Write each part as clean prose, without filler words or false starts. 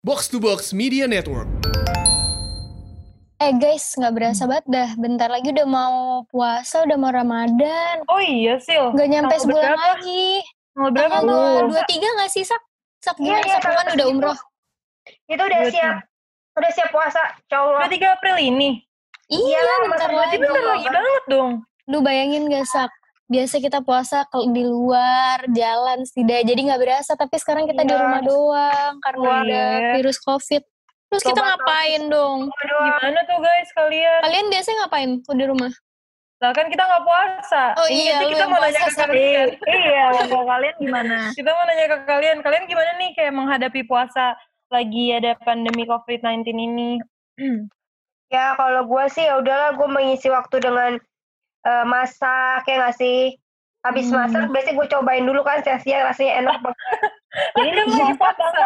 Box to Box Media Network. Guys, gak berasa banget dah. Bentar lagi udah mau puasa, udah mau Ramadan. Oh iya, Sil. Gak nyampe Tanggal sebulan berapa? lagi. Tanggal berapa Tanggal tuh? 23 gak sih, Sak? Sak gimana? Iya, Sak kan udah umroh. Itu udah siap puasa, insyaallah. 23 April ini? Iya, bentar lagi. Bentar lagi banget dong. Duh, bayangin gak, Sak? Biasa kita puasa di luar, jalan setidaknya. Jadi gak berasa, tapi sekarang kita di rumah doang. Karena ada virus COVID. Terus kita ngapain dong? Gimana tuh guys kalian? Kalian biasanya ngapain di rumah? Lah kan kita gak puasa. Oh iya, kita mau nanya ke kalian. Iya, kalau kalian gimana? Kita mau nanya ke kalian. Kalian gimana nih kayak menghadapi puasa lagi ada pandemi COVID-19 ini? Ya kalau gue sih ya udahlah, gue mengisi waktu dengan masak, ya nggak sih? Habis masak biasanya gue cobain dulu kan sia-sia, rasanya enak banget. Jadi kan mau puasa.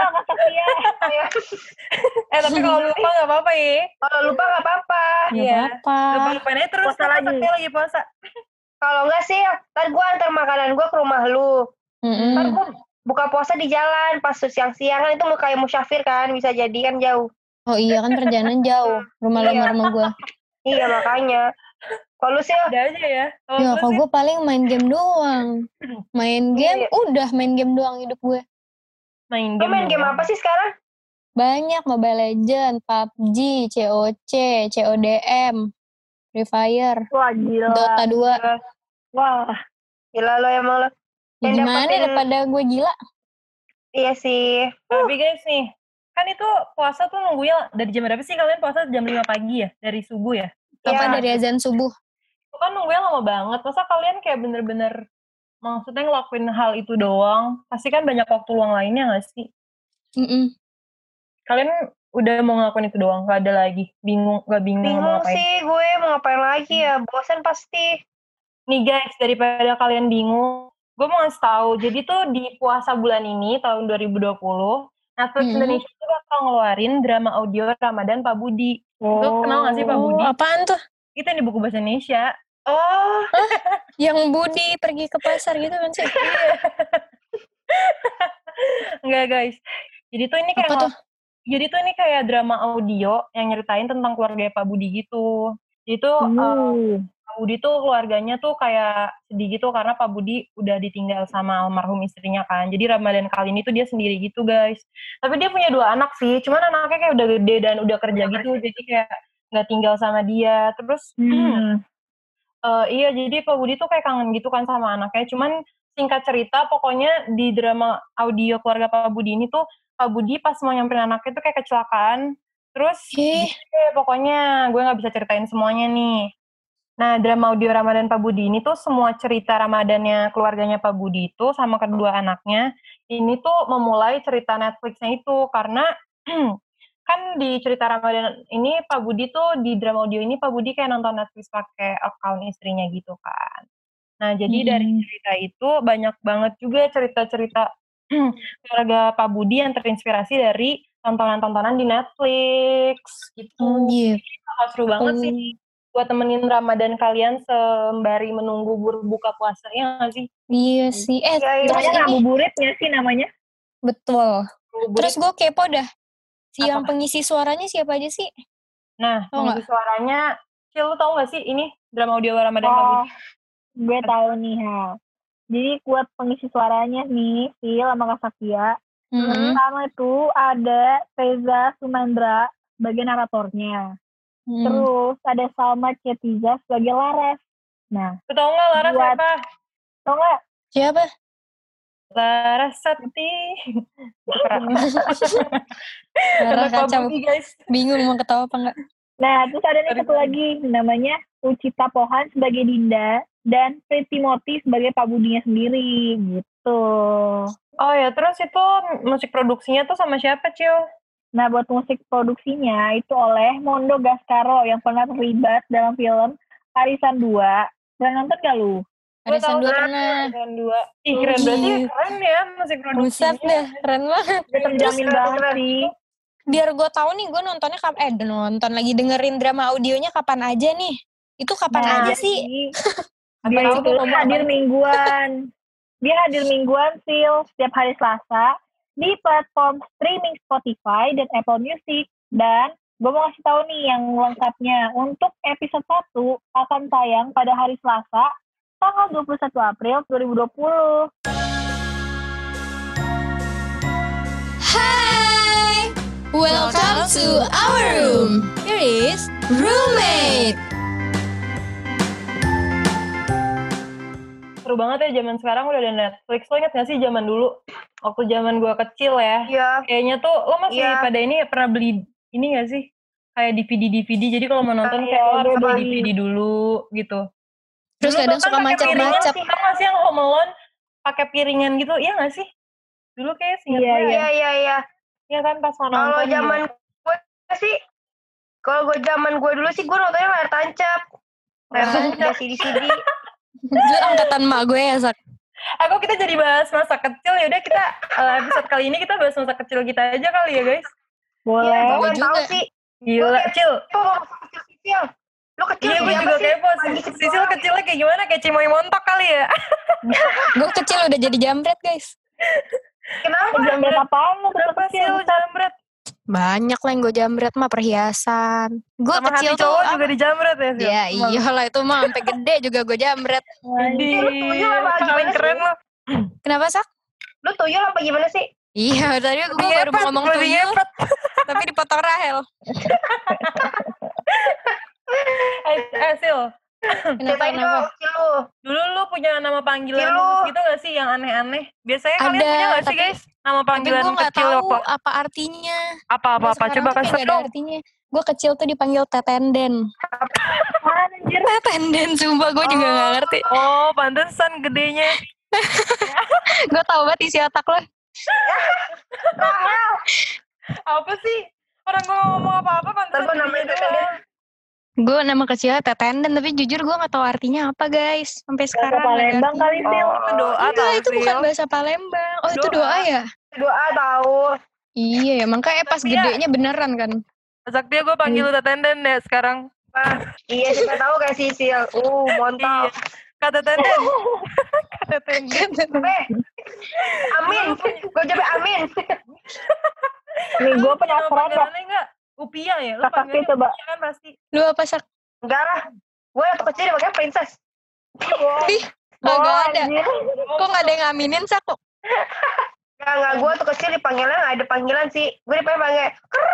Tapi kalau lupa nggak apa-apa ya. Kalau lupa nggak apa-apa. Iya. Lupa-lupain aja terus Puasa lagi. lagi puasa. Kalau nggak sih, ntar gue antar makanan gue ke rumah lu. Ntar gue buka puasa di jalan pas siang-siang kan, itu mau kayak musyafir kan, bisa jadi kan jauh. Oh iya kan perjalanan jauh rumah lo sama rumah gue. Iya makanya. Kalau lu sih ada aja ya. Ya kalau gue paling main game doang. Main game, udah main game doang hidup gue. Lu main game apa sih sekarang? Banyak, Mobile Legends, PUBG, COC, CODM, Free Fire, wah gila. Dota 2. Wah, gila lo emang lo. Ya, gimana daripada gue gila? Iya sih. Tapi guys nih, kan itu puasa tuh nunggunya dari jam berapa sih kalian puasa? Jam 5 pagi ya? Dari subuh ya? Apa dari azan subuh? Itu kan nunggunya lama banget. Masa kalian kayak bener-bener maksudnya ngelakuin hal itu doang? Pasti kan banyak waktu luang lainnya gak sih? Kalian udah mau ngelakuin itu doang? Gak ada lagi? Gak bingung mau ngapain? Sih gue mau ngapain lagi ya? Bosan pasti. Nih guys, daripada kalian bingung, gue mau ngasih tahu. Jadi tuh di puasa bulan ini, tahun 2020, Netflix Indonesia tuh bakal ngeluarin drama audio Ramadan Pak Budi. Lu kenal gak sih Pak Budi? Apaan tuh? Itu yang di buku bahasa Indonesia. Oh, yang Budi pergi ke pasar gitu kan sih? Enggak guys. Jadi tuh ini kayak drama audio yang nyeritain tentang keluarga Pak Budi gitu. Jadi tuh Pak Budi tuh keluarganya tuh kayak sedih gitu karena Pak Budi udah ditinggal sama almarhum istrinya kan. Jadi Ramadan kali ini tuh dia sendiri gitu guys. Tapi dia punya 2 anak sih. Cuman anaknya kayak udah gede dan udah kerja gitu. Jadi kayak nggak tinggal sama dia. Terus iya, jadi Pak Budi tuh kayak kangen gitu kan sama anaknya. Cuman singkat cerita, pokoknya di drama audio keluarga Pak Budi ini tuh, Pak Budi pas mau nyamperin anaknya tuh kayak kecelakaan. Terus, pokoknya gue gak bisa ceritain semuanya nih. Nah, drama audio Ramadan Pak Budi ini tuh semua cerita Ramadannya keluarganya Pak Budi itu sama kedua anaknya, ini tuh memulai cerita Netflix-nya itu. Karena kan di cerita Ramadan ini Pak Budi tuh di drama audio ini Pak Budi kayak nonton Netflix pakai account istrinya gitu kan. Nah jadi dari cerita itu banyak banget juga cerita-cerita keluarga Pak Budi yang terinspirasi dari tontonan-tontonan di Netflix gitu. Jadi seru banget sih buat temenin Ramadan kalian sembari menunggu berbuka puasa, ya nggak sih? Iya sih. Terus ngabuburitnya sih namanya. Betul. Terus gue kepo dah. Yang pengisi suaranya siapa aja sih? Nah, pengisi suaranya, Cil, lu tau gak sih ini drama audio Ramadan Pak Budi? Gue tahu nih, Jadi buat pengisi suaranya nih, Sil sama Kak Sakia. Pertama itu ada Reza Sumendra sebagai naratornya. Terus ada Salma Cetiza sebagai Laras. Nah, lu tau gak Laras siapa? Tau gak? Siapa? Laras Sakti. Laras kacau, guys. Bingung mau ketawa apa enggak. Nah, terus ada nih satu lagi namanya Ucita Pohan sebagai Dinda dan Pretty Moti sebagai Pak Budinya sendiri gitu. Oh ya, terus itu musik produksinya tuh sama siapa, Cil? Nah, buat musik produksinya itu oleh Mondo Gascaro yang pernah terlibat dalam film Arisan 2. Pernah nonton gak lu? Arisan 2 pernah. Arisan 2. Ih, keren banget. Keren ya musik produksinya. Buset deh, keren banget. Terjamin banget sih. Biar gue tahu nih, gue nontonnya nonton lagi dengerin drama audionya kapan aja nih. Itu kapan aja sih? Dia itu hadir mingguan. Dia hadir mingguan, Sil. Setiap hari Selasa di platform streaming Spotify dan Apple Music. Dan gue mau kasih tahu nih yang lengkapnya. Untuk episode 1 akan tayang pada hari Selasa, tanggal 21 April 2020. Hai, welcome to our room. Here is roommate. Seru banget ya zaman sekarang udah ada Netflix. Lo inget gak sih zaman dulu? Waktu zaman gue kecil ya. Iya. Kayaknya tuh lo masih pada ini pernah beli ini gak sih? Kayak DVD. Jadi kalau mau nonton kayak lo harus beli DVD dulu gitu. Terus Dulu kadang bahkan suka pakai piringan macet-macet. sih. Tau gak sih yang Home Alone pakai piringan gitu? Iya gak sih? Dulu kayak singkat gue. Iya. Iya kan pas mau nonton. Kalau zaman gue sih, kalau gue zaman gue dulu sih gue nontonnya layar tancap. Layar tancap CD. Lu angkatan mak gue ya, Sak? Aku kita jadi bahas masa kecil, yaudah kita episode kali ini kita bahas masa kecil kita aja kali ya guys. Boleh. Iya, gue juga. tahu sih. Gila, Cil. Kecil. Lu kecil Iya, gue juga kepo. Sisil kecilnya kayak gimana? Kayak Cimoy Montok kali ya? Gue kecil udah jadi jambret, guys. Kenapa? Jambret apaan lu Kenapa sih lu jambret? Banyak lah yang gue jambret mah, perhiasan. Gue Sama kecil hati cowok tuh juga dijambret ya, Sil? Ya iyalah itu mah sampai gede juga gue jambret. Paling keren lo. Kenapa, Sak? Lu tuyul apa gimana sih? Iya, tadi gue baru mau ngomong tuyul, tapi dipotong Rahel. Sil. Kenapa? Dulu lu punya nama panggilan Cilu. khusus gitu gak sih yang aneh-aneh? Biasanya kalian punya gak sih guys? Nama Tapi panggilan gue gak kecil tahu apa? apa artinya. Apa-apa, Sekarang coba tuh kasih kayak gak ada dong. artinya. Gue kecil tuh dipanggil Tetenden. Anjir. Tetenden, sumpah gue juga gak ngerti. Oh, pantesan gedenya. Gue tau banget isi otak lo. Apa sih? Orang gue ngomong apa-apa pantesan Apa namanya gedenya Tetenden? doang. Gue nama kecilnya Tetenden, tapi jujur gue gak tahu artinya apa guys. Sampai sekarang Bahasa nggak ada Palembang kali, artinya. Sil. Itu doa Enggak, tau, itu bukan Sil. bahasa Palembang. Oh, itu Doa. doa ya? Doa tahu. Iya ya, makanya pas Tapi ya- gedenya beneran kan. Saktia gue panggil lu Tetenden deh sekarang. Iya, siapa tahu kayak Sisil. Mantap. Kata Tenden. Kata Tenden. Amin. Gue coba amin. Nih, gue Lu punya nama penasaran dah. panggilannya nggak? Upia ya? Lu Kakak panggilnya coba. Upia kan pasti. Lu apa, Sak? Enggak lah. Gue waktu kecil dipanggil princess. Ih, kagak ada. Anjir. Kok gak ada yang ngaminin, Sak? Kok? Enggak. Gue waktu kecil dipanggilnya nggak ada panggilan sih. Gue dipanggil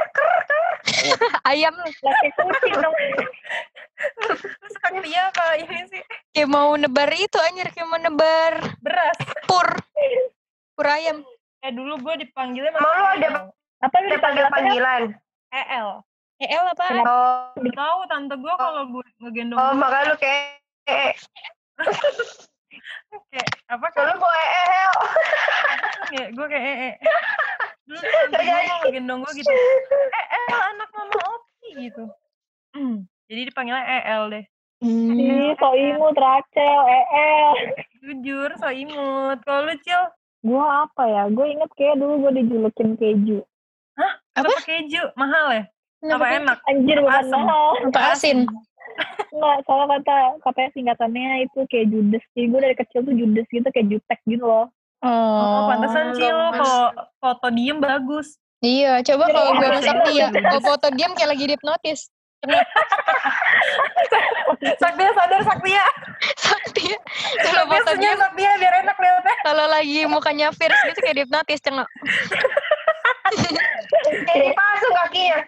Ayam. Laki kucing dong. Terus Saktia apa ini sih? Kayak mau nebar itu, anjir. Kayak mau nebar Beras. pur. Pur ayam. Dulu gue dipanggilnya Emang lu ada Apa lu dipanggil apa? panggilan? EL. EL apa? Oh, Tahu tante gue kalau gue ngegendong oh gue makanya lu kayak kayak apa kan? kalau gue Kayak gue kayak Dulu tuh tante gue mau ngegendong gue gitu. Anak mama Opi gitu. Jadi dipanggilnya EL deh. Ih, so imut, Rachel, EL. Jujur, so imut. Kalau lu, Cil? Gue apa ya? Gue inget kayak dulu gue dijulukin keju. Apa keju? Mahal ya? Apa enak? Anjir, bukan Asem. mahal. Apa asin? Enggak, soalnya katanya singkatannya itu kayak judes. Jadi gue dari kecil tuh judes gitu, kayak jutek gitu loh. Oh, pantesan Cil lo kalau foto diem bagus. Iya, coba kalau gue sama Saktia. Kalau foto diam kayak lagi hipnotis. Saktia sadar, Saktia. Saktia. Kalau Saktia foto senyum, diam, Saktia biar enak liatnya. kalau lagi mukanya fierce gitu kayak hipnotis, cengok. jadi pasung kakinya.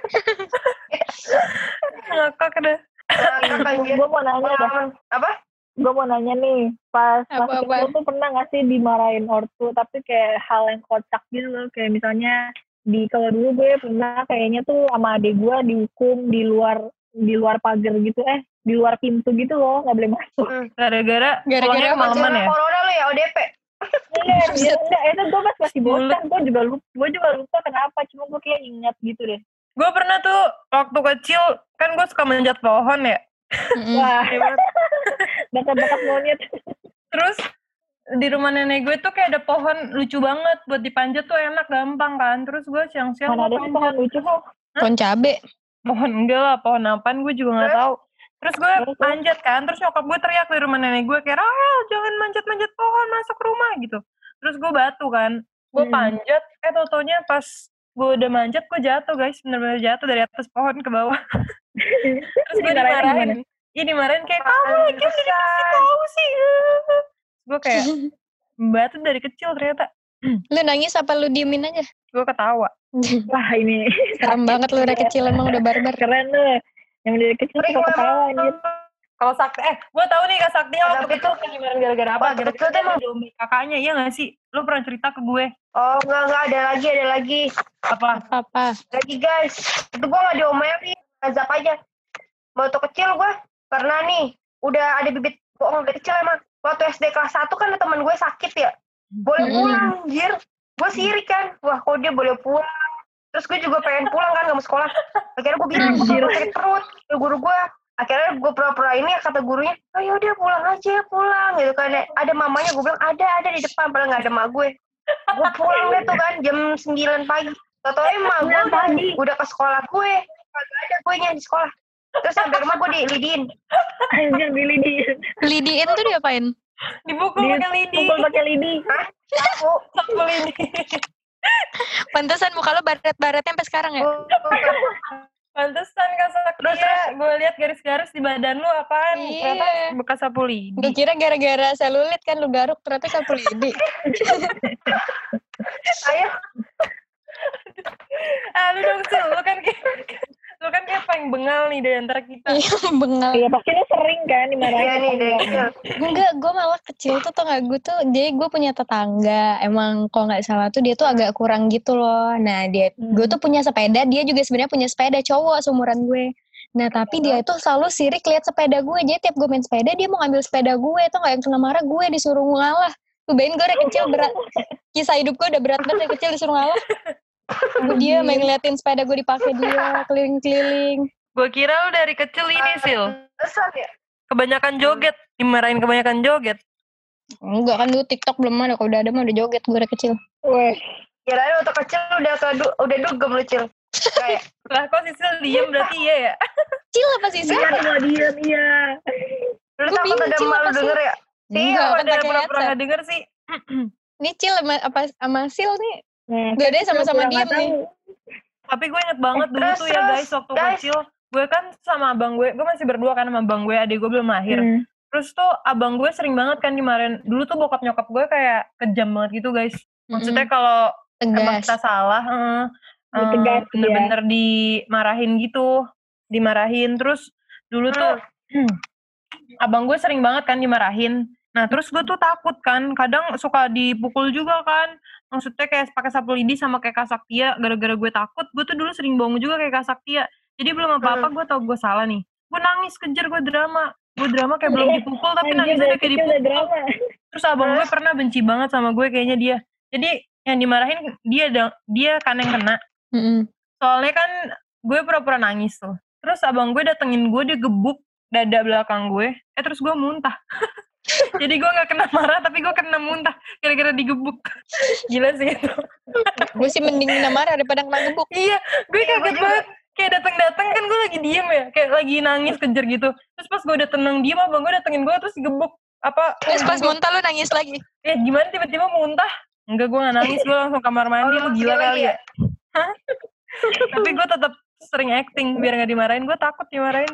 Ngakak deh. Gue mau nanya dah. Apa? Gue mau nanya nih, pas masih Apa-apa? kecil tuh pernah gak sih dimarahin ortu, tapi kayak hal yang kocak gitu loh, kayak misalnya kalau dulu gue pernah kayaknya tuh sama adik gue dihukum di luar pagar gitu, di luar pintu gitu loh, nggak boleh masuk. Gara-gara pulangnya kemalaman Karena ya? corona lu ya ODP. Iya, enggak, itu gue masih bosan, gue juga lupa kenapa, cuma gue kayak ingat gitu deh. Gue pernah tuh waktu kecil, kan gue suka manjat pohon ya. Wah, bakat-bakat monyet. Terus di rumah nenek gue tuh kayak ada pohon lucu banget buat dipanjat tuh enak gampang kan. Terus gue siang-siang Mana gue ada sih pohon lucu kok. Pohon cabe. pohon enggak lah, pohon apaan gue juga nggak tahu. Terus gue manjat kan, terus nyokap gue teriak di rumah nenek gue kayak, Rahel jangan manjat-manjat pohon, masuk rumah gitu. Terus gue batu kan, Gue panjat, tau-taunya pas gue udah manjat, gue jatuh guys, bener-bener jatuh dari atas pohon ke bawah. Terus gue dimarahin. Iya dimarahin kayak, kamu lagi udah dikasih tahu sih. Gue kayak, mbak tuh dari kecil ternyata. Lu nangis apa lu diemin aja? Gue ketawa. Wah ini. Serem banget lu udah kecil, emang udah barbar. Keren lu. Yang dari kecil suka ketawa anjir. Kalau Sakti, gue tahu nih Kak Sakti waktu kecil gimana gara-gara apa? Gara-gara dia mau diomelin kakaknya, iya gak sih? Lu pernah cerita ke gue? Oh enggak, ada lagi. Apa? Lagi guys, itu gue gak diomelin, azab aja. Waktu kecil gue, karena nih, udah ada bibit bohong dari kecil emang. Waktu SD kelas 1 kan ada teman gue sakit ya. Boleh pulang, anjir. Gue sirik kan, wah kok dia boleh pulang. Terus gue juga pengen pulang kan, gak mau sekolah. Akhirnya gue bilang, gue sakit perut ke guru gue. Akhirnya gue pura-pura ini, kata gurunya, oh yaudah pulang aja, pulang. Gitu kan, ada mamanya, gue bilang, ada di depan, padahal gak ada emak gue. Gue pulang deh tuh kan, jam 9 pagi. Tau-tau emak gue udah ke sekolah gue. Gak ada gue nya di sekolah. Terus sampai rumah gue dilidiin. Anjir dilidiin. Lidiin tuh diapain? Dipukul pakai lidi. Hah? Sapu lidi. Pantesan muka lo baret-baretnya sampai sekarang ya? Pantesan Kak Saktia, gue lihat garis-garis di badan lu apaan? Iya. Ternyata bekas sapu lidi. Gue kira gara-gara selulit kan lu garuk, ternyata sapu lidi. Ayo. Lu dong Sil, lu kan kayak paling bengal nih dari antara kita. Iya, bengal. Iya pasti lu sering kan dimarahin. Iya nih dari kecil. Enggak, gue malah kecil tuh tau gak, jadi gue punya tetangga, emang kalau gak salah tuh dia tuh agak kurang gitu loh. Nah gue tuh punya sepeda, dia juga sebenarnya punya sepeda, cowok seumuran gue. Nah tapi dia itu selalu sirik lihat sepeda gue, jadi tiap gue main sepeda dia mau ngambil sepeda gue, tau gak, yang kena marah gue disuruh ngalah. Tuh bayangin gue dari kecil berat, kisah hidup gue udah berat banget dari kecil disuruh ngalah. Dia main ngeliatin sepeda gue dipakai dia keliling-keliling. Gue kira lu dari kecil ini Sil, Besar ya? kebanyakan joget, dimarahin kebanyakan joget. Enggak kan dulu TikTok belum ada, kalau udah ada mah udah joget gue dari kecil. Weh. Kirain waktu kecil udah dugem lu Cil. Kayak Lah kok Sisil diem berarti iya ya? Cil apa sih? Iya cuma diem iya. lu Gua takut bingung, ada Cil, emak lu apa sih? denger ya? Enggak, kan Ada pakai pura-pura headset. gak denger sih. Ini Cil sama Sil nih. Nah, Dua-duanya sama-sama diem nih. Tapi gue inget banget dulu tuh ya guys, waktu kecil. Gue kan sama abang gue masih berdua kan sama abang gue, adik gue belum lahir. Terus tuh abang gue sering banget kan dimarahin. Dulu tuh bokap nyokap gue kayak kejam banget gitu guys. Maksudnya kalau emang kita salah, bener-bener dimarahin gitu. Dimarahin. Terus dulu tuh abang gue sering banget kan dimarahin. Nah terus gue tuh takut kan, kadang suka dipukul juga kan. Maksudnya kayak pakai sapu lidi sama kayak Kak Saktia, gara-gara gue takut, gue tuh dulu sering bohong juga kayak Kak Saktia. Jadi belum apa-apa gue tau gue salah nih. Gue nangis kejer, gue drama kayak belum dipukul tapi nangisnya udah kayak dipukul. Terus abang gue pernah benci banget sama gue kayaknya dia. Jadi yang dimarahin dia kan yang kena. Soalnya kan gue pura-pura nangis tuh. Terus abang gue datengin gue, dia gebuk dada belakang gue. Terus gue muntah. Jadi gue gak kena marah tapi gue kena muntah gara-gara digebuk. Gila sih itu. Gue sih mending kena marah daripada kena gebuk. Iya, gue kaget banget. Kayak dateng-dateng kan gue lagi diem ya, kayak lagi nangis kejer gitu. Terus pas gue udah tenang diem, abang gue datengin gue terus gebuk. Terus pas muntah lu nangis lagi? Gimana tiba-tiba muntah? Enggak, gue gak nangis, gue langsung kamar mandi. Lu gila kali ya? Hah? Tapi gue tetap sering acting biar gak dimarahin. Gue takut dimarahin.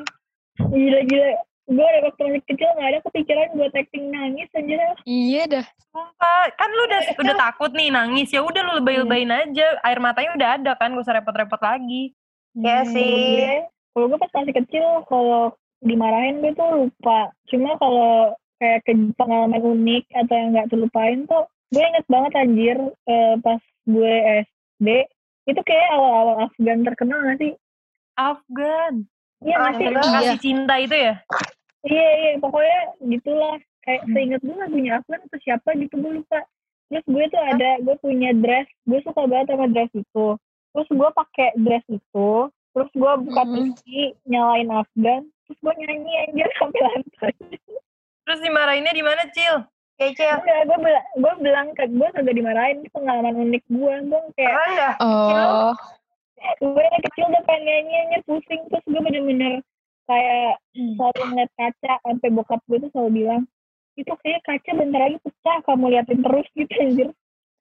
Gila. Gue dari waktu masih kecil gak ada kepikiran buat acting nangis aja. Iya dah. Sumpah, kan lu udah takut nih nangis, ya udah lu lebay-lebayin aja. Air matanya udah ada kan, gak usah repot-repot lagi. Iya sih. Kalau gue pas masih kecil, kalau dimarahin gue tuh lupa. Cuma kalau kayak pengalaman unik atau yang gak terlupain tuh, gue inget banget anjir pas gue SD, itu kayak awal-awal Afgan terkenal gak sih? Afgan? Iya masih kasih cinta itu ya? Iya, pokoknya gitulah. Kayak seinget gue lagunya Afgan atau siapa gitu, gue lupa. Terus gue tuh gue punya dress, gue suka banget sama dress itu. Terus gue pakai dress itu, terus gue buka TV, nyalain Afgan, terus gue nyanyi anjir sampai lantai. Terus dimarahinnya di mana, Cil? Cil. Enggak, gue bilang ke gue kagak dimarahin, itu pengalaman unik gue kayak. Oh. Gue yang kecil udah pengen nyanyi pusing, terus gue bener-bener kayak selalu ngeliat kaca, sampai bokap gue tuh selalu bilang, itu kayak kaca bentar lagi pecah, kamu liatin terus gitu anjir.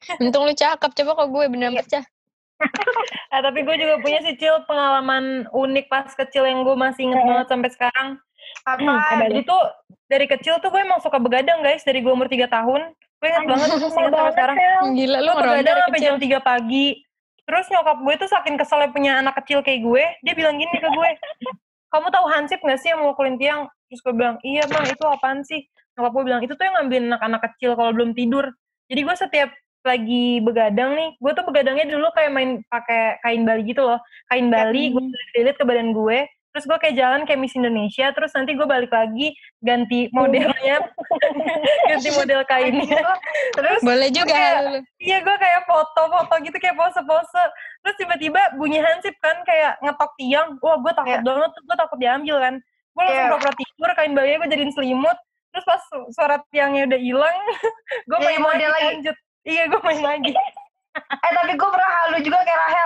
Untung lu cakep, coba kok gue beneran pecah. Tapi gue juga punya sih Cil pengalaman unik pas kecil yang gue masih inget banget sampai sekarang. Jadi tuh dari kecil tuh gue emang suka begadang guys, dari gue umur 3 tahun. Gue inget banget tuh inget sampai sekarang. Gila lu Gue begadang sampai jam 3 pagi. Terus nyokap gue tuh saking keselnya punya anak kecil kayak gue, dia bilang gini ke gue, kamu tahu hansip gak sih yang mukulin tiang? Terus gue bilang, iya mah itu apaan sih? Nyokap gue bilang, itu tuh yang ngambilin anak-anak kecil kalau belum tidur. Jadi gue setiap lagi begadang nih, gue tuh begadangnya dulu kayak main pakai kain bali gitu loh. Kain bali, gue lilit ke badan gue, terus gue kayak jalan kayak Miss Indonesia, terus nanti gue balik lagi ganti modelnya, ganti model kainnya. Terus boleh juga kayak, iya gue kayak foto-foto gitu, kayak pose-pose. Terus tiba-tiba bunyi hansip kan, kayak ngetok tiang. Wah gue takut banget tuh, gue takut diambil kan. Gue langsung pura-pura tidur, kain balinya gue jadiin selimut. Terus pas suara tiangnya udah hilang, gue main model lagi. Lanjut. Iya, gue main lagi. Tapi gue pernah halu juga kayak Rahel.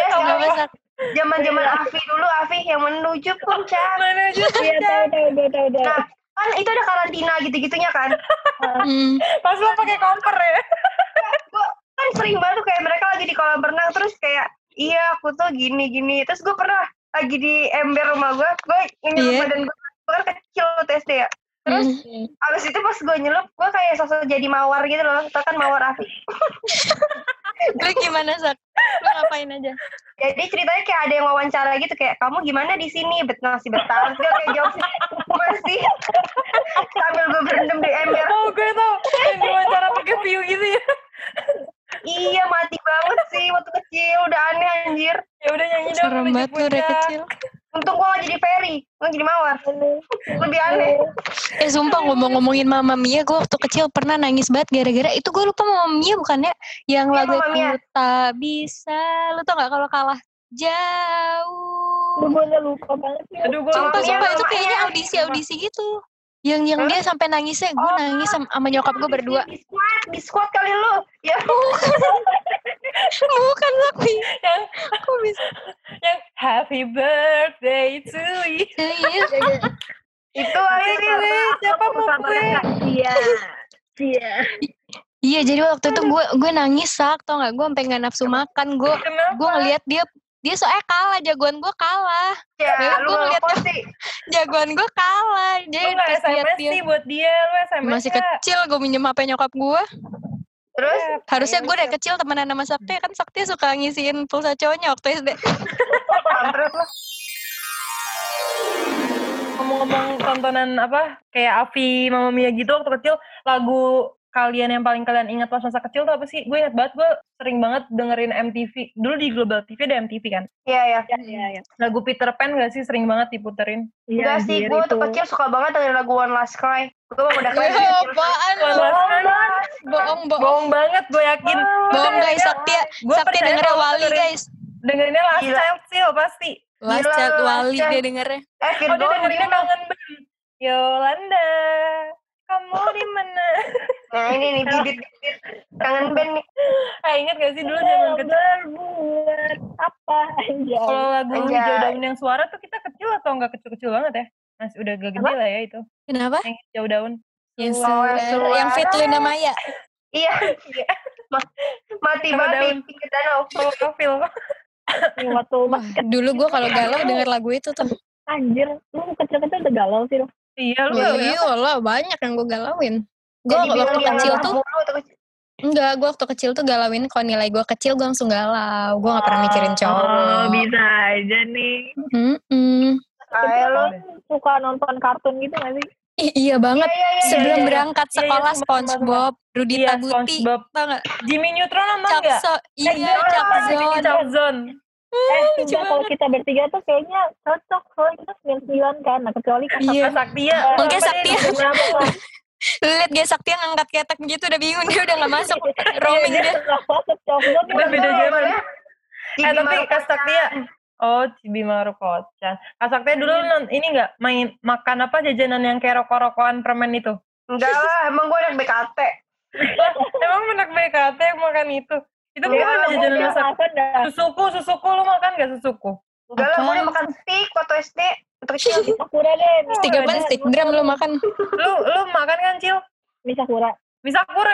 Zaman-zaman Afi dulu, Afi yang menuju puncak. Iya, tahu. Nah, kan itu ada karantina gitu-gitunya kan. Pas lo pakai koper ya. Gue kan sering banget kayak mereka lagi di kolam renang, terus kayak, iya aku tuh gini-gini. Terus gue pernah lagi di ember rumah gue nyelup badan gue kan kecil waktu SD ya. Terus abis itu pas gue nyelup, gue kayak sosok jadi mawar gitu loh. Tau kan mawar Afi. Lu gimana, Sak? Lu ngapain aja? Jadi ceritanya kayak ada yang wawancara gitu, kayak kamu gimana di sini? Masih betah. Gue kayak jawab sih, masih. Sambil gue berendam di ember. Oh, gue tau. Yang diwawancara pakai view gitu ya. Iya, mati banget sih waktu kecil. Udah aneh anjir. Ya udah nyanyi dong. Serem banget lu dari kecil. Untung gue gak jadi Ferry, gue jadi Mawar. Lebih aneh. Sumpah ngomongin Mama Mia, gue waktu kecil pernah nangis banget gara-gara itu. Gue lupa Mama Mia bukannya yang lagu itu tak bisa. Lu tau gak kalau kalah jauh? Gue lupa banget sih. Sumpah itu kayaknya audisi gitu. Yang dia sampai nangisnya, gue nangis sama nyokap gue berdua. Biskuat kali lu. Ya. Bukan tapi yang aku bisa yang happy birthday to you. Itu siapa mau gue? Iya, jadi waktu itu gue nangis Sak, tau gak? Gue sampai nggak nafsu makan. Gue ngeliat dia soalnya kalah, jagoan gue kalah. Ya, gue ngeliat jagoan gue kalah. Jadi lu gak SMS sih buat dia, lu SMS masih kecil, gue minjem HP nyokap gue. Terus harusnya gue udah kecil temenan sama Sakti, kan Sakti suka ngisiin pulsa cowoknya waktu SD. Ngomong-ngomong tontonan apa kayak Afi, Mama Mia gitu waktu kecil, lagu kalian yang paling kalian ingat pas masa kecil tuh apa sih? Gue ingat banget, gue sering banget dengerin MTV. Dulu di Global TV ada MTV kan? Iya. Lagu Peter Pan gak sih sering banget diputerin? Enggak sih, gue waktu kecil suka banget dengerin lagu One Last Cry. Gue udah kayak apaan lu? Bohong banget, gue yakin. Bohong guys, Sakti dengernya Wali guys. Dengerinnya Last Child sih pasti. Last Child Wali dia dengernya. Dia dengerinnya Kangen Band. Yolanda, kamu di mana? Nah ini nih bibit Kangen Band nih. Ingat gak sih dulu zaman kecil? Berbuat apa aja. Kalau lagu Hijau Daun yang Suara tuh kita kecil atau nggak kecil-kecil banget ya? Masih udah gak gede lah ya itu. Kenapa? Yang Hijau Daun. Yang fit Luna Maya. Iya. Mati banget di pinggir danau. Profil. Dulu gue kalau galau denger lagu itu tuh. Anjir, lu kecil-kecil udah galau sih lu. Iya lu. Iya lah, banyak yang gue galauin. Gue waktu kecil tuh enggak, gue waktu kecil tuh galauin kalau nilai gue kecil gue langsung galau. Gue gak pernah mikirin cowok. Bisa aja nih. Lo suka nonton kartun gitu gak sih? Iya banget. Sebelum berangkat sekolah SpongeBob, Rudy Tabuti, tau gak? Jimmy Neutron nonton gak? Iya, Chuckzone. Coba kalau kita bertiga tuh kayaknya cocok, soalnya kita 99 kan, nah kecuali Saktia. Mungkin Saktia. Lu liat gak Saktia ngangkat ketek gitu udah bingung, dia udah gak masuk roaming dia. Udah beda zaman. Tapi Kak Saktia, Cibi Marukocan. Kak Saktia dulu ini gak main makan apa jajanan yang kayak rokok-rokokan permen itu? Enggak lah, emang gue anak BKT. Emang anak BKT yang makan itu? Itu bukan jajanan masak. Susuku lu makan gak susuku? Enggak lah, gue makan steak waktu SD. Sakura deh. Steak apa? Steak drum lu makan? Lu makan kan, Cil? Mie Sakura. Misakura.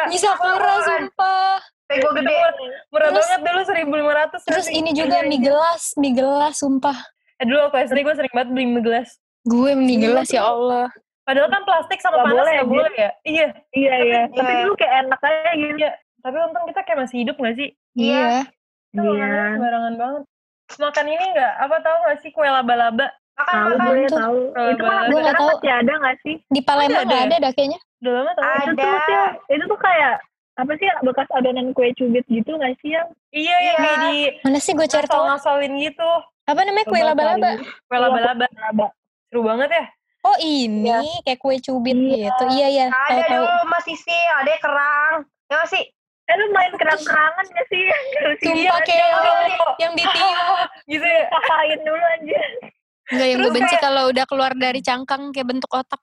Sumpah. Pego gede. Murah Terus- banget dulu 1.500. Terus ini juga mie gelas, sumpah. Dulu waktu SD gue sering banget beli mie gelas. Gue mie gelas ya Allah. Padahal kan plastik sama Gak panas boleh, gak boleh ya? Iya. Iya. Tapi dulu kayak enak aja gitu. Iya. Tapi untung kita kayak masih hidup gak sih? Iya. Kita makannya sembarangan banget. Makan ini gak? Apa tahu gak sih kue laba-laba? Tahu Makan. gue tuh. tahu. Itu Gue malah nggak sekarang tahu. masih ada nggak sih? Di Palembang Ada. nggak ada dah kayaknya. Udah lama tau. Itu tuh maksudnya, itu tuh kayak apa sih bekas adonan kue cubit gitu nggak sih yang? Iya, yang kayak di Mana sih gue cari tahu. ngasal-ngasalin gitu. Apa namanya kue Coba laba-laba? cari. Kue laba-laba. Laba. Seru banget ya? Oh ini kayak kue cubit Iya. gitu. Iya. Ada Tahu. dulu Mas Sisi, ada kerang. Ya nggak sih? Lu main kerang-kerangan nggak sih? Sumpah kayak yang ditiup. Gitu ya? Kapain dulu aja. Enggak, yang gue benci kalau udah keluar dari cangkang kayak bentuk otak.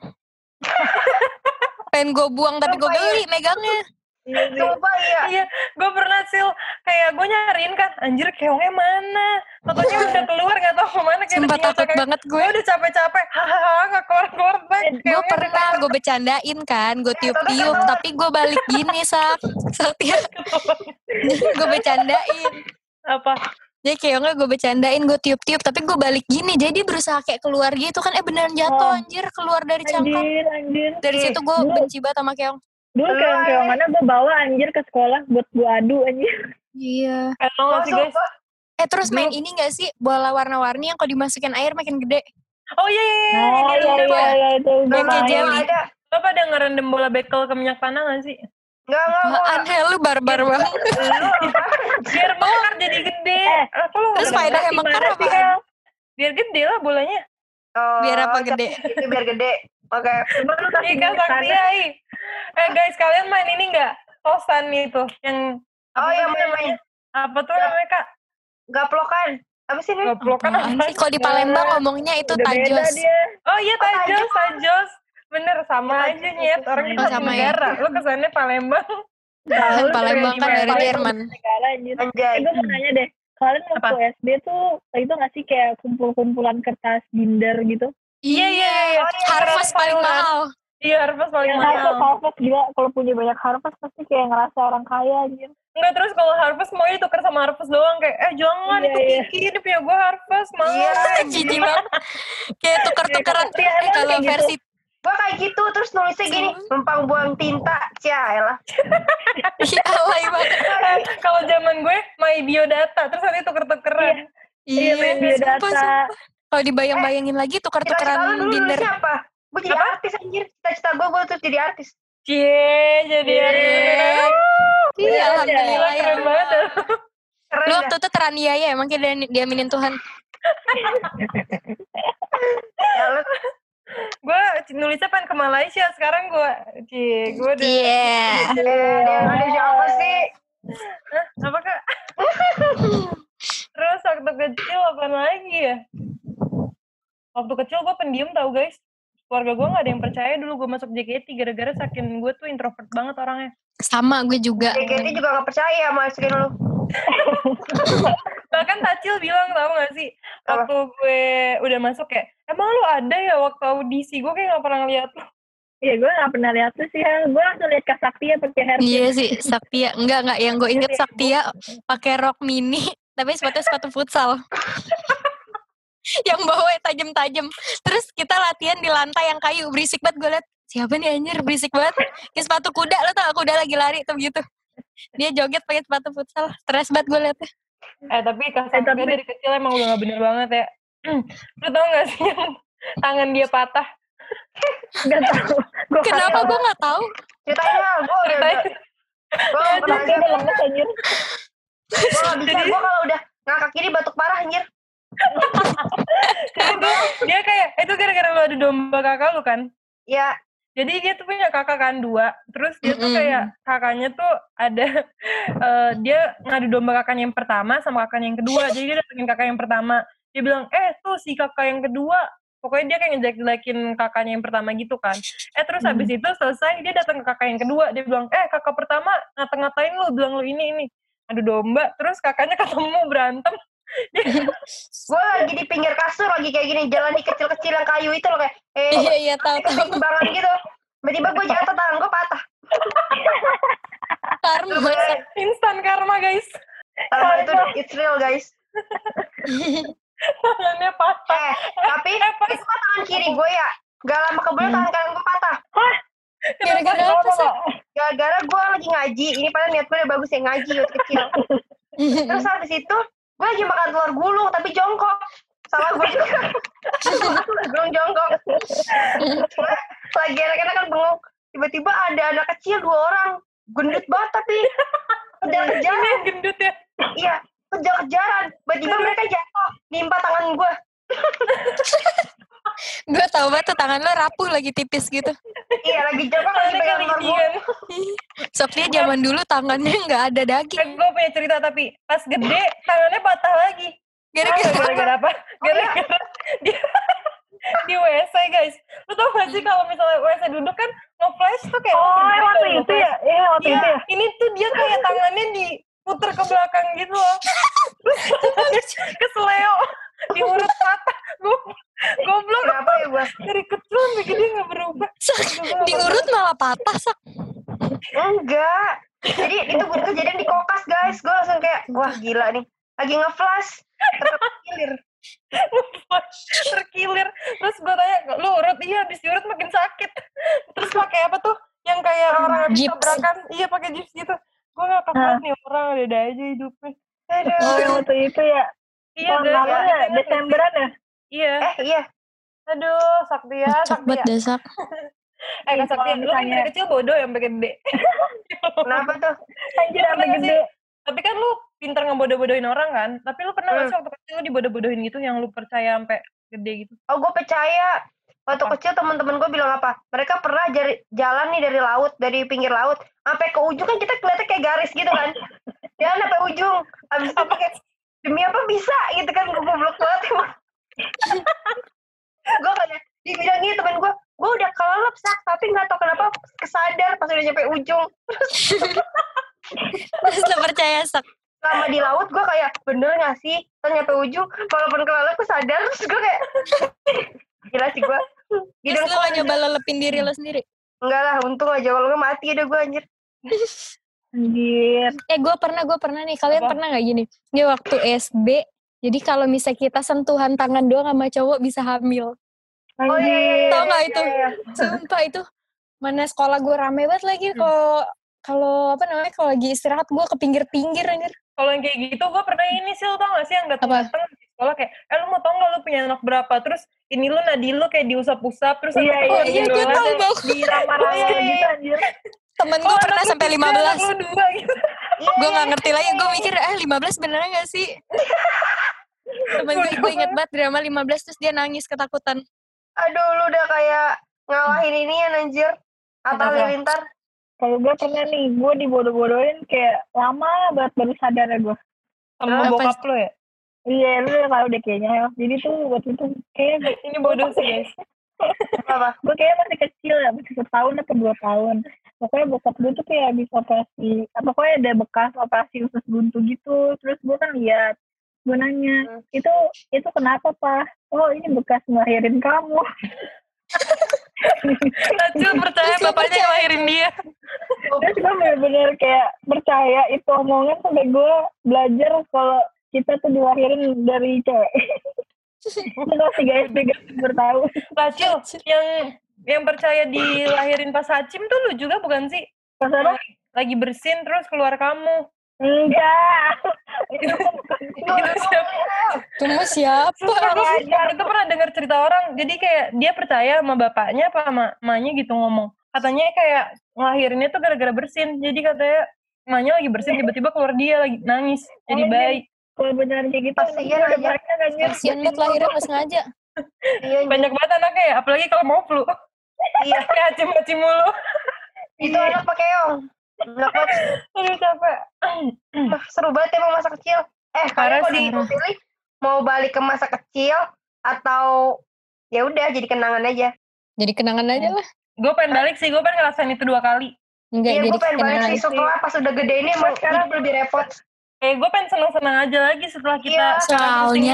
Pengen gue buang tapi gue geli megangnya. Sumpah iya. Iya, gue pernah Sil, kayak gue nyariin kan, anjir keongnya mana? Totonya udah keluar gak tau kemana. Sumpah takut banget gue. Gue udah capek-capek, hahaha gak keluar-keluar. Gue pernah gue bercandain kan, gue tiup-tiup tapi gue balik gini Saktia. Gue bercandain. Apa? Jadi keongnya gue bercandain, gue tiup-tiup tapi gue balik gini. Jadi berusaha kayak keluar gitu kan, beneran jatuh anjir keluar dari cangkang. Anjir. Dari situ gue benci banget sama keong. Dulu keong-keongannya gue bawa anjir ke sekolah buat gue adu anjir. Iya. Tau gak sih guys? Terus main ini gak sih bola warna-warni yang kalau dimasukin air makin gede? Oh iya, Iya itu gue Yang kayak main. jelly. Ada. Lo pada ngerendam bola bekel ke minyak tanah gak sih? Enggak. Aneh lu barbar banget. Biar mekar jadi gede. Terus faedahnya mekar Gimana sih, apaan? Kal? Biar gede lah bolanya. Biar apa gede? Itu biar gede. Oke. Coba lu kasih Ika minyak sakti tanah. ai. Guys, kalian main ini gak? Tosan itu. Yang Oh apa yang sih namanya? Apa tuh namanya Kak? Gaplokan. Apa sih ini? Gaplokan Apaan apa? sih? Kalau di Palembang ngomongnya itu Udah beda tajos. dia. Oh iya tajos. Bener sama aja nyet. Orang kita sama sama ya. negara. Lu kesannya Palembang. Tahu, Palembang kan dari Palembang Jerman. negara, anjir. Anjay. Gue mau nanya deh, kalian waktu SD tuh itu nggak sih kayak kumpul-kumpulan kertas binder gitu? Iya. Harvest paling mahal. Iya, Harvest paling Yang mahal. Harvest gila, kalau punya banyak Harvest pasti kayak ngerasa orang kaya anjir. Enggak, terus kalau Harvest mau ditukar sama Harvest doang. Kayak, jangan Iya, itu iya. Kiki. Ini punya gue Harvest. Mahal. Iya. Jijik banget. Kayak tuker-tukeran. Iya, emang Kalau kayak gitu. versi Gua kayak gitu terus nulisnya gini, numpang buang tinta. Cialah. alay banget. Kalau zaman gue, my biodata. Terus nanti tuker-tukeran. Iya, main biodata. sumpah. Kalau dibayang-bayangin lagi Cita-cita tukar-tukeran lu dulu binder. nulisnya apa? Gue jadi artis anjir. Cita-cita gue terus jadi artis. Cie, jadi artis. Iya, alhamdulillah Gila, ya. keren banget. Keren Lu dah. waktu itu teraniaya emang kayak diaminin Tuhan. Ya, lu Gue nulisnya pengen ke Malaysia. Sekarang gue udah. Iya. ada siapa sih? Hah? Apa Kak? Terus waktu kecil apa lagi ya? Waktu kecil gue pendiam tau guys. Keluarga gue gak ada yang percaya dulu gue masuk JKT gara-gara saking gue tuh introvert banget orangnya. Sama gue juga. JKT juga gak percaya masukin lu. Bahkan Tacil bilang tau gak sih, waktu gue udah masuk kayak, emang lu ada ya waktu audisi? Gue kayak gak pernah ngeliat lu. Iya, gue gak pernah lihat tuh sih. Gue langsung lihat Kak Saktia pakai hairpin. Iya sih, Saktia. Enggak. Yang gue inget Saktia pakai rok mini, tapi sepatu futsal. Yang bawa tajam-tajam. Terus kita latihan di lantai yang kayu, berisik banget gue liat. Siapa nih anjir, berisik banget. Kayak sepatu kuda, lo tau kuda lagi lari tuh gitu. Dia joget pakai sepatu futsal. Stres banget gue liatnya. Tapi Kak Saktia dari kecil emang udah gak bener banget ya. Lu tau gak sih yang tangan dia patah? Gak tau. Kenapa gue gak tahu? Ceritain lah, gue udah. Gue gak pernah Dia udah lemes anjir. Gue gak bisa, gue kalau udah ngakak kiri batuk parah anjir. Jadi tuh dia kayak, itu gara-gara lu ada domba kakak lu kan? Ya, Jadi dia tuh punya kakak kan 2. Terus dia tuh kayak kakaknya tuh ada dia ngadu domba kakaknya yang pertama sama kakaknya yang kedua. Jadi dia datengin kakak yang pertama. Dia bilang, tuh si kakak yang kedua. Pokoknya dia kayak ngejelek-jelekin kakaknya yang pertama gitu kan. Terus habis itu selesai dia datang ke kakak yang kedua. Dia bilang, kakak pertama ngata-ngatain lu, bilang lu ini. Adu domba. Terus kakaknya ketemu berantem. gue lagi di pinggir kasur lagi kayak gini, jalan di kecil-kecil yang kayu itu loh kayak Iya tahu. timbangan gitu. Tiba-tiba gue jatuh, tangan gue patah. Karma. Instan karma guys. Karma itu it's real guys. Tangannya patah. Tapi itu kan tangan kiri gue ya. Gak lama kemudian tangan kanan gue patah. Gara-gara apa sih? Gara-gara gue lagi ngaji. Ini padahal niat gue udah bagus ya ngaji waktu kecil. Terus habis itu gue lagi makan telur gulung tapi jongkok. Salah gue juga. Gulung jongkok. Lagi enak-enak kan bengong. Tiba-tiba ada anak kecil 2 orang. Gendut banget tapi kejar-kejaran. Gendut ya? Iya, kejar-kejaran. Tiba-tiba mereka jatuh. Nimpa tangan gue. Gue tau banget tuh tangan lo rapuh lagi tipis gitu. Iya, lagi jongkok lagi pegang telur gulung. Soalnya zaman dulu tangannya nggak ada daging. Gue punya cerita tapi pas gede tangannya patah lagi. Gara-gara apa? Gara-gara di WC guys. Lu tau gak sih kalau misalnya WC duduk kan nge-flash tuh kayak waktu itu ya? Iya, waktu itu ya? Ini tuh dia kayak tangannya diputer ke belakang gitu loh. Terus keseleo diurut patah. Goblok. Kenapa ya gue? Dari kecil sampai gede gak berubah. Diurut malah patah, Sak. Enggak. Jadi itu kejadian di kokas guys. Gue langsung kayak, wah gila nih. Lagi nge-flash. Terkilir. Terus gue tanya, lu urut? Iya, habis diurut makin sakit. Terus pakai apa tuh? Yang kayak orang habis tabrakan. Iya, pakai gips gitu. Gue gak kuat nih orang, ada aja hidupnya. Aduh. Oh, yang waktu itu ya? Iya, Desemberan ya? Iya. Iya. Aduh, Saktia. Cepet deh, Sak. Kak Saktia, lu kan dari kecil bodoh yang sampai gede. Kenapa tuh? Anjir, sampai gede. Tapi kan lu pinter ngebodoh-bodohin orang kan? Tapi lu pernah gak sih waktu kecil lu dibodoh-bodohin gitu yang lu percaya sampai gede gitu? Oh, gue percaya. Waktu kecil teman-teman gue bilang apa? Mereka pernah jalan nih dari laut, dari pinggir laut, sampai ke ujung kan kita kelihatan kayak garis gitu kan? Jalan sampai ujung. Habis itu pakai demi apa bisa gitu kan? Gue goblok banget emang. Gue kayak dibilang gitu temen gue udah kelelep Sak, tapi nggak tahu kenapa kesadar pas udah nyampe ujung. Terus lo percaya, Sak? Lama di laut gue kayak bener nggak sih? Terus nyampe ujung, walaupun kelelep gue sadar, terus gue kayak gila sih gue. Terus lo gak nyoba lelepin diri lo sendiri? Enggak lah, untung aja kalau nggak mati udah gue anjir. Anjir. Gue pernah nih. Kalian pernah gak gini? Ini waktu SD, jadi kalau misalnya kita sentuhan tangan doang sama cowok bisa hamil. Oh iya. Tau gak itu? Sumpah itu. Mana sekolah gue rame banget lagi kalau kalau lagi istirahat gue ke pinggir-pinggir anjir. Kalau yang kayak gitu gue pernah ini sih, lo tau gak sih yang dateng di sekolah kayak, lu mau tau gak lu punya anak berapa? Terus ini lu nadi lu kayak diusap-usap terus iya gue tau banget. Diramah-ramah gitu anjir. Temen gue pernah sampai 15. Gitu. Gue gak ngerti lagi, gue mikir 15 beneran gak sih? Temen gue inget banget drama 15 terus dia nangis ketakutan. Aduh, lu udah kayak ngalahin ini ya anjir. Atta Halilintar. Kalau gue pernah nih, gue dibodoh-bodohin kayak lama banget baru sadar ya gue. Sama bokap lo ya? Iya, lu udah tau deh kayaknya. Jadi tuh waktu itu kayak ini bodoh sih guys. Apa? Gue kayaknya masih kecil ya, masih 1 tahun atau 2 tahun. Pokoknya bokap gue tuh kayak habis operasi, pokoknya ada bekas operasi usus buntu gitu. Terus gue kan lihat, gue nanya, itu kenapa Pak? Oh ini bekas ngelahirin kamu. Najul percaya bapaknya ngelahirin dia. Terus gue bener-bener kayak percaya itu omongan sampai gue belajar kalau kita tuh dilahirin dari cewek. Itu masih SD gak bertahu. Najul, yang percaya dilahirin pas Hacim tuh lu juga bukan sih? Pas apa? Lagi bersin terus keluar kamu. Enggak. Itu siapa? Tunggu siapa? Itu pernah dengar cerita orang. Jadi kayak dia percaya sama bapaknya apa sama emaknya gitu ngomong. Katanya kayak ngelahirinnya tuh gara-gara bersin. Jadi katanya emaknya lagi bersin tiba-tiba keluar dia lagi nangis. Jadi baik. Kalau beneran kayak gitu kasian banget lahirnya gak sengaja. Banyak banget anaknya ya. Apalagi kalau mau flu. Iya. Kayak acim-acim mulu. Itu anak pakai keong. Aduh capek. Seru banget emang masa kecil. Kalian kalau dipilih mau balik ke masa kecil atau ya udah jadi kenangan aja. Jadi kenangan aja lah. Gue pengen balik sih, gue pengen ngerasain itu 2 kali. Enggak, iya, jadi gue pengen balik sih setelah pas udah gede ini emang hidup lebih repot. Gue pengen seneng-seneng aja lagi setelah kita soalnya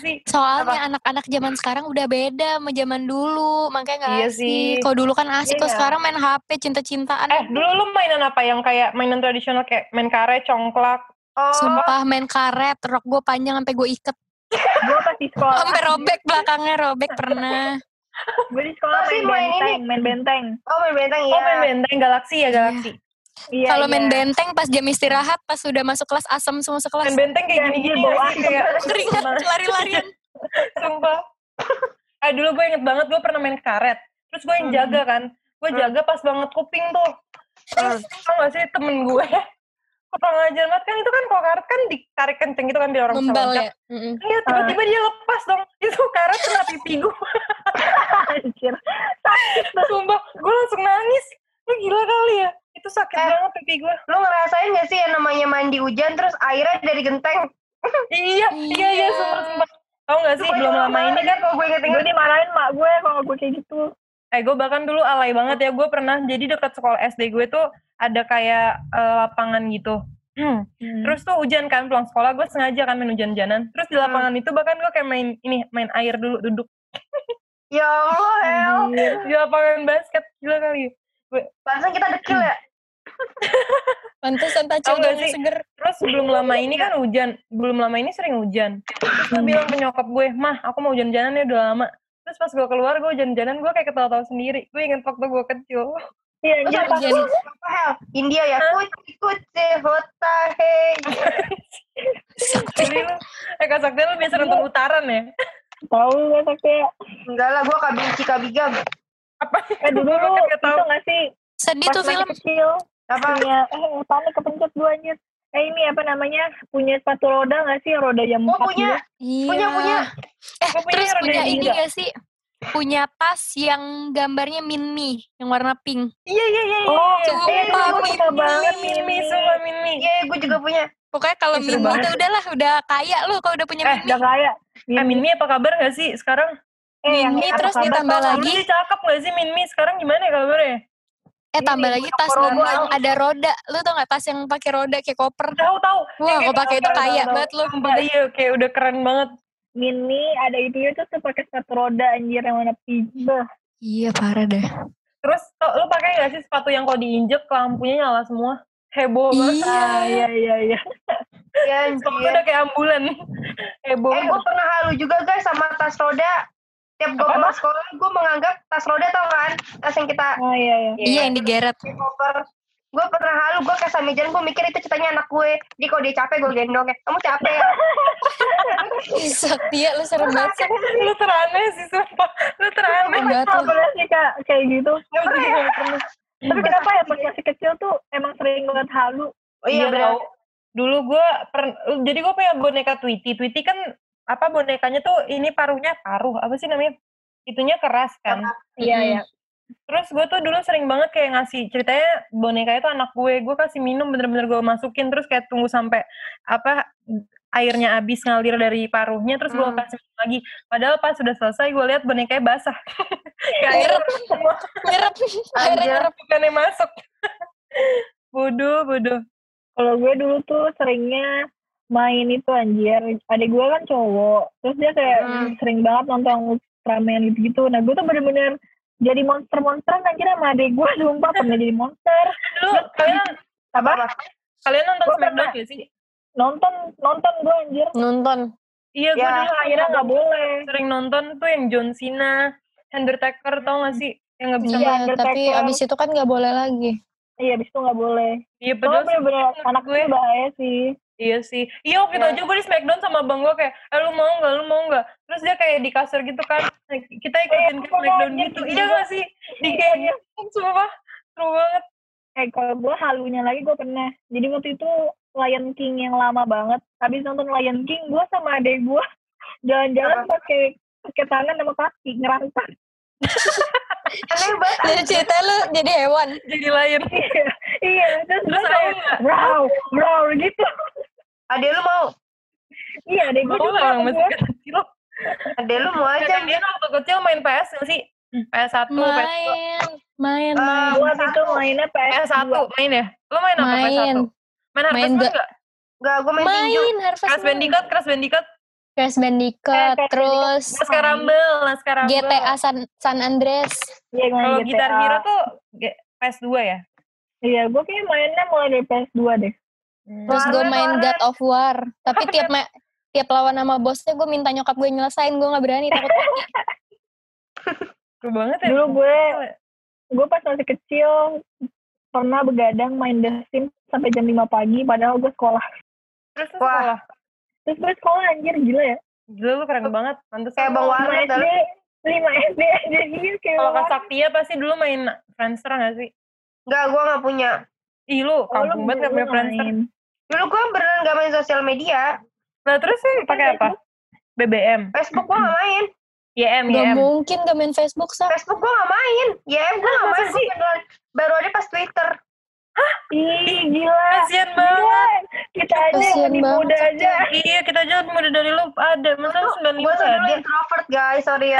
sih? Soalnya anak-anak zaman sekarang udah beda sama zaman dulu, makanya nggak asik. Kalau dulu kan asik, kalau sekarang main HP, cinta-cintaan. Dulu lu mainan apa yang kayak mainan tradisional kayak main karet, congklak? Sumpah main karet, rok gue panjang sampai gue iket. Gue pas di sekolah. Sampai robek belakangnya, robek pernah. Gue di sekolah main benteng. Main benteng ya. Main benteng, Galaxy ya, Galaxy. Iya, kalau main benteng pas jam istirahat, pas sudah masuk kelas asam semua sekelas. Main benteng kayak gini-gini bau kayak keringat lari-larian. Sumpah. Dulu gue inget banget gue pernah main karet. Terus gue yang jaga kan. Gue jaga pas banget kuping tuh. Terus tau gak sih temen gue kurang ajar banget kan, itu kan kalau karet kan ditarik kenceng gitu kan biar orang bisa loncat. Iya, tiba-tiba dia lepas dong. Itu karet kena pipi gue. Anjir. Sumpah, gue langsung nangis. Lu gila kali ya. Itu sakit banget pipi gue. Lu ngerasain gak sih yang namanya mandi hujan terus airnya dari genteng? Iya, sumpah. Tau gak sih, belum lama ini kan kalau gue inget-inget. Gue dimarahin mak gue kalau gue kayak gitu. Gue bahkan dulu alay banget ya. Gue pernah, jadi dekat sekolah SD gue tuh ada kayak lapangan gitu. Terus tuh hujan kan, pulang sekolah gue sengaja kan main hujan-hujanan. Terus di lapangan itu bahkan gue kayak main air dulu, duduk. Ya Allah, di lapangan basket, gila kali. Pantesan kita dekil ya. Pantesan tacilnya seger. Terus belum lama ini kan hujan. Belum lama ini sering hujan. Terus gue bilang ke nyokap gue, "Mah, aku mau hujan-hujanan ya udah lama." Terus pas gue keluar, gue hujan-hujanan, gue kayak ketawa-tawa sendiri. Gue inget waktu gue kecil. Iya, hujan. Apa hell? India ya? Kuci hota hei. Jadi lu, Kak Sakti lu biasa nonton Utaran ya? Tahu gak Sakti? Enggak lah, gue kabigam. Apa? Dulu lu itu gak sih? Sedih tuh film. Kecil. Apa? Punya, panik kepencet gue anjir. Ini apa namanya? Punya sepatu roda gak sih? Roda yang 4 punya. Iya. Punya. Terus punya ini gak sih? Punya tas yang gambarnya Minmi, yang warna pink. Iya. Oh, sumpah suka banget Minmi. Iya, gue juga punya. Pokoknya kalau Minmi udah kaya loh kalau udah punya Minmi. Udah kaya. Minmi apa kabar gak sih sekarang? Minmi terus ditambah lagi. Dulu sih cakep gak sih Minmi? Sekarang gimana ya kabarnya? Tambah lagi tas Minmi yang ada roda. Lu tau gak tas yang pakai roda kayak koper? Tahu. Wah, kalau pakai itu kaya banget lu. Iya, kayak udah keren banget. Mini ada itu tuh pakai sepatu roda anjir yang warna pink. Iya, parah deh. Terus lu pakai gak sih sepatu yang kalau diinjek lampunya nyala semua? Heboh banget. Iya. Iya, Sepatu udah kayak ambulan. Heboh. Gue pernah halu juga guys sama tas roda. Tiap gue pulang sekolah, gue menganggap tas roda tau kan? Tas yang kita... Oh iya. Iya, yang digeret. Gue pernah halu, gue kayak Samijan, gue mikir itu ceritanya anak gue. Jadi kalau dia capek, gue gendong ya. Kamu capek ya? Sakti ya, lu serem banget sih. Lu teraneh sih, sumpah. Lu teraneh. Enggak tuh. Pernah sih Kak, kayak gitu. Pernah. Tapi kenapa ya pas masih kecil tuh emang sering banget halu? Oh iya, benar. Dulu gue jadi gue punya boneka Tweety. Tweety kan bonekanya tuh ini paruh apa sih namanya? Itunya keras kan. Iya. Terus gue tuh dulu sering banget kayak ngasih, ceritanya boneka itu anak gue kasih minum bener-bener gue masukin terus kayak tunggu sampai airnya habis ngalir dari paruhnya terus gue kasih minum lagi. Padahal pas sudah selesai gue lihat bonekanya basah. Kayak nyerep bukannya masuk. Bodoh. Kalau gue dulu tuh seringnya main itu anjir. Adik gue kan cowok. Terus dia kayak sering banget nonton Ultraman gitu. Nah gue tuh bener-bener jadi monster-monsteran anjir sama adik gue. Sumpah pernah jadi monster. Dulu kalian nonton Smackdown gak sih? Nonton gue anjir. Nonton. Iya, gue dulu akhirnya gak boleh. Sering nonton tuh yang John Cena, Undertaker, tau gak sih? Yang gak bisa main. Iya, tapi abis itu kan gak boleh lagi. Iya, abis itu gak boleh. Iya, padahal bener-bener anak gue bahaya sih. Iya sih. Iya, waktu itu aja gue di Smackdown sama abang gue kayak, lu mau gak? Terus dia kayak di kasur gitu kan, kita ikutin ke Smackdown gitu. Iya gak sih? Di kayak sumpah, seru banget. Kalau gue halunya lagi gue pernah. Jadi waktu itu Lion King yang lama banget. Habis nonton Lion King, gue sama adek gue jalan-jalan pakai tangan sama kaki ngerantak. Aneh banget. Jadi cerita lu jadi hewan. Jadi lion. Iya. Terus kayak brow gitu. Adek lu mau? Iya, adek gue juga orang masih kecil. Adek lu mau aja. Dia waktu kecil main PS gak sih? PS1, Main. Gue itu mainnya PS1 main ya? Lu main apa PS1? Main Harvest Moon gak? Enggak, gue main tinju. Harvest Moon. Crash Bandicoot? Crash Bandicoot, terus Laskar Rumble. GTA San Andreas. Iya, Kalau GTA. Guitar Hero tuh PS2 ya? Iya, gue kayak mainnya mulai dari PS2 deh. Terus gue main God of War. Tapi tiap lawan sama bosnya gue minta nyokap gue nyelesain, gue gak berani, takut mati. Seru banget ya. Dulu gue pas masih kecil pernah begadang main The Sims sampai jam 5 pagi padahal gue sekolah. Terus sekolah? Terus gue sekolah, anjir, gila ya. Gila lu keren banget. Pantes Kayak Bang Warnet. 5 SD aja gitu. Kalau Kak Saktia pasti dulu main Friendster gak sih? Enggak, gue gak punya. Ih lu kampung banget gak punya Friendster. Dulu gue beneran gak main sosial media. Nah terus sih pakai apa? BBM. Facebook gue gak main. YM. Gak mungkin gak main Facebook, Sak. Facebook gue gak main. YM gue gak main. Baru ada pas Twitter. Hah? Ih, gila. Kasian banget. Kita aja yang lebih muda aja. Iya, kita aja lebih muda dari lu. Ada. Masa 95 Gue tuh dulu ada? introvert, guys. Sorry ya.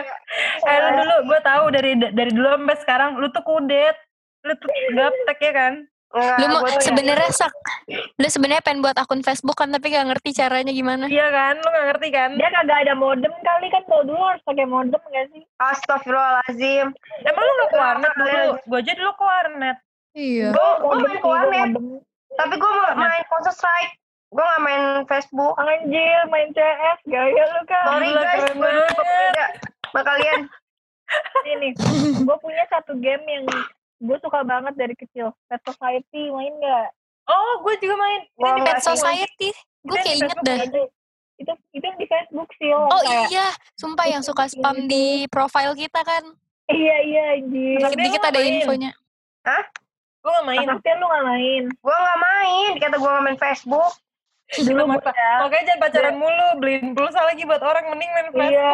Lu dulu, gue tahu dari dulu sampai sekarang, lu tuh kudet. Lu tuh gaptek ya kan? Lu sebenarnya Sak, lu sebenarnya pengen buat akun Facebook kan, tapi gak ngerti caranya gimana. Iya kan? Lu gak ngerti kan? Dia kagak ada modem kali kan, kalau dulu harus pakai modem gak sih? Astagfirullahaladzim. Emang lu gak ke warnet dulu? Gue aja dulu ke warnet. Iya. Gue main ke warnet. Tapi gue main Counter Strike. Gue gak main Facebook. Anjir, main CS, gaya lu kan. Sorry guys, gue dulu beda sama kalian. Ini, gue punya satu game yang gue suka banget dari kecil. Pet Society, main gak? Oh, gue juga main. Wah, Ini di Pet Facebook. Society. Gue kayak inget dah. Itu yang di Facebook sih. Oh iya, sumpah yang suka spam di profile kita kan. Iya, anjir. Dikit-dikit ada infonya. Hah? Gue gak main. Tapi lu gak main. Gue gak main. Kata gue gak main Facebook. Dulu Makanya jangan pacaran mulu. Beliin pulsa lagi buat orang. Mending main Facebook. Iya.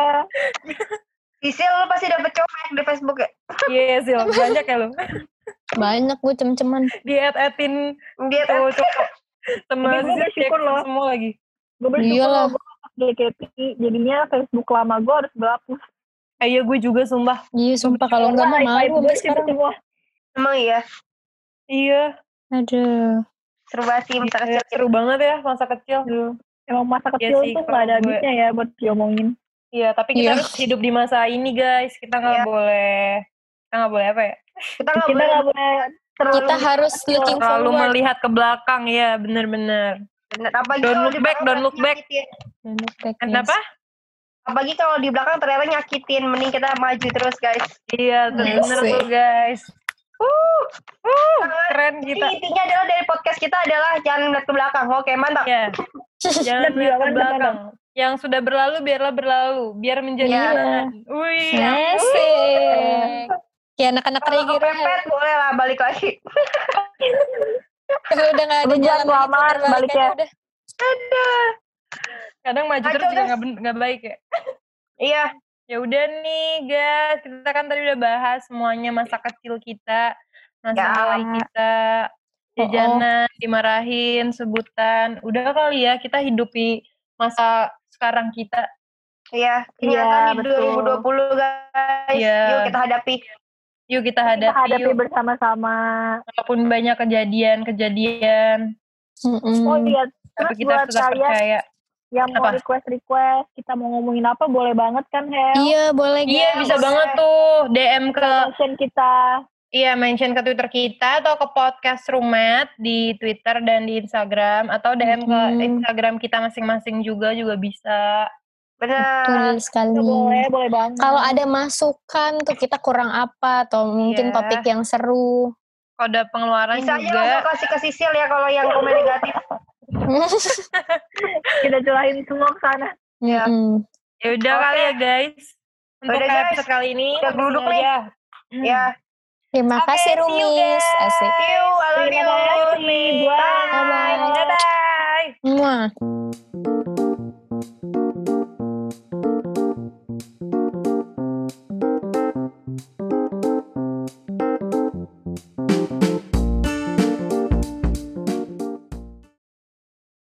Sisil lu pasti dapet cowok di Facebook ya? Iya, Sil. Banyak ya lu. Banyak gue cem-ceman. Di-add-in Dia tuh cowok. Sama Tapi gue bersyukur loh. semua lagi. Gue bersyukur Iyalah. loh, gue JKT. Jadinya Facebook lama gue harus berhapus. Iya, gue juga sumpah. Iya sumpah, kalau enggak mah malu sampai sekarang. Semua. emang iya. Iya. Aduh. Seru banget sih masa kecil. Seru banget ya masa kecil. Emang masa kecil sih, tuh gak ada kalau gue- habisnya ya buat diomongin. Iya, tapi kita Iya. harus hidup di masa ini, guys. Kita nggak Iya. boleh apa ya? Kita gak Kita boleh gak boleh terlalu Kita harus looking Terlalu forward. melihat ke belakang, ya, bener-bener. bener. Apalagi Don't kalau look di back, belakang don't look back. nyakitin. Kenapa? Apalagi kalau di belakang ternyata nyakitin. Mending kita maju terus guys. Iya, bener Asik. tuh, guys. Keren Jadi kita. intinya adalah dari podcast kita adalah jangan melihat ke belakang. Oke, mantap. Ya. Jangan Dan lihat ke jangan belakang. Yang sudah berlalu biarlah berlalu, biar menjadi Iya. kenangan. Wih. Asik. Kayak anak-anak Kalau reggae kepepet boleh lah balik lagi. Kalau udah gak ada Lu jalan jangan lamaran, balik ya. udah. Kadang maju Kacau, terus juga guys. nggak baik ya. Iya. Ya udah nih guys, kita kan tadi udah bahas semuanya masa kecil kita, masa Ya. mulai kita, jajanan, dimarahin, sebutan. Udah kali ya kita hidupi masa sekarang kita. Iya. Kenyataan di betul. 2020 guys. Iya. Yuk kita hadapi. Yuk kita Kita hadapi, hadapi yuk. bersama-sama. Walaupun banyak kejadian, Oh iya, tapi terus kita buat harus tetap kalian percaya. yang mau Apa? request, kita mau ngomongin apa boleh banget kan, Hel? Iya boleh Iya guys. bisa banget tuh DM ke Mention kita. Iya, mention ke Twitter kita atau ke podcast Rumet di Twitter dan di Instagram atau DM ke Instagram kita masing-masing juga bisa. Benar. Betul sekali. Boleh banget. Kalau ada masukan tuh kita kurang apa atau mungkin Iya. topik yang seru. Kode pengeluaran Bisa aja juga. langsung kasih ke Sisil ya kalau yang komen negatif. Kita curahin semua ke sana. Ya. Ya udah Oke. kali ya guys. Untuk Udah, guys. episode kali ini Udah geruduk ini nih. aja. Ya. Terima Oke, kasih see you, Rumis. guys. Asik. See you. I love you. Terima kasih. Bye. Bye-bye. Bye bye. Muah.